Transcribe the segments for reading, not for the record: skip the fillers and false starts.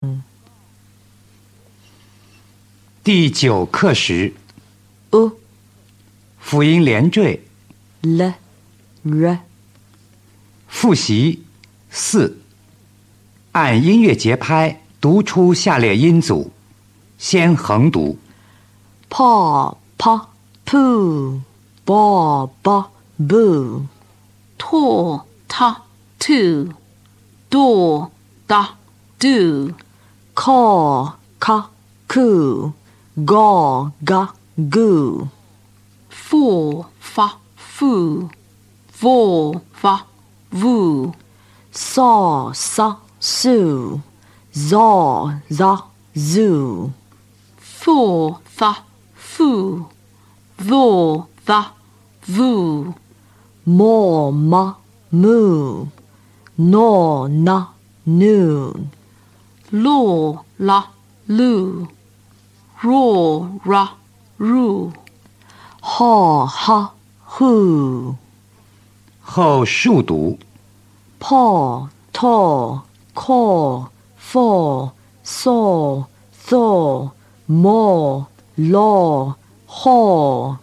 第9课时， u 辅音连缀， l r 复习4，按音乐节拍读出下列音组，先横读。 paw paw poo baw baw boo to ta to do da do caw ca coo gaw ga goo fo fa fu vo va vu saw sa sue zaw za zoo fo fa fu vo va vu more ma moo no na noon lo la lu ro ra ru ha ha who 后数读。 paw taw caw faw saw thaw maw law haw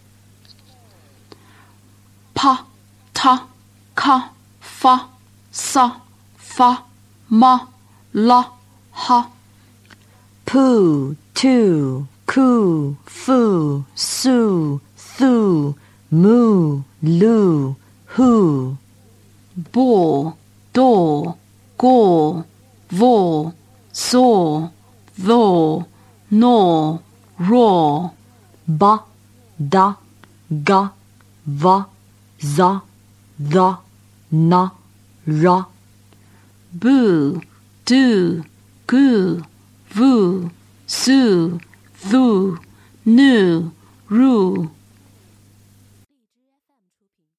pa ta ka fa sa fa ma la ha poo too coo foo sue thoo moo loo who bo do go vo so tho no ro ba da ga va za the na ra boo do goo vu su thu nu ru